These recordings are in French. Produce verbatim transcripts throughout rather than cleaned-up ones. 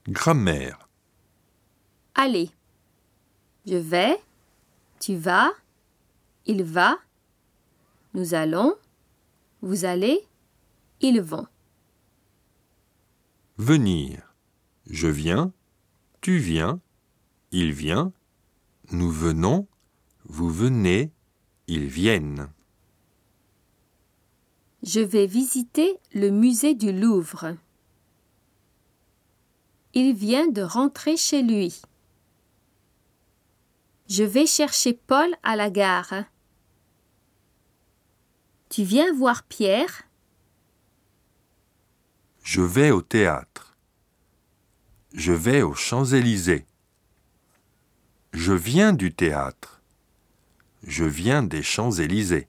Grammaire. Aller. Je vais, tu vas, il va, nous allons, vous allez, ils vont. Venir. Je viens, tu viens, il vient, nous venons, vous venez, ils viennent. Je vais visiter le musée du Louvre. Il vient de rentrer chez lui. Je vais chercher Paul à la gare. Tu viens voir Pierre? Je vais au théâtre. Je vais aux Champs-Élysées. Je viens du théâtre. Je viens des Champs-Élysées.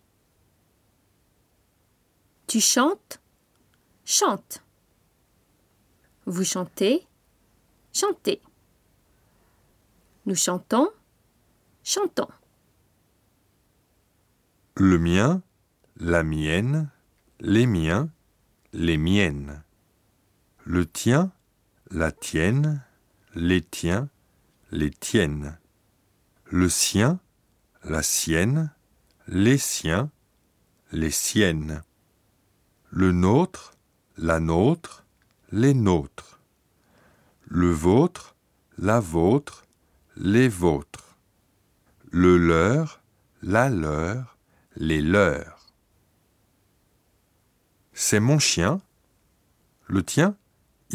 Tu chantes? Chante. Vous chantez? Chantez. Nous chantons? Chantons. Le mien, la mienne, les miens, les miennes. Le tien, la tienne, les tiens, les tiennes. Le sien, la sienne, les siens, les siennes. Le nôtre, la nôtre, les nôtres. Le vôtre, la vôtre, les vôtres. Le leur, la leur, les leurs. C'est mon chien. Le tien, il est où ?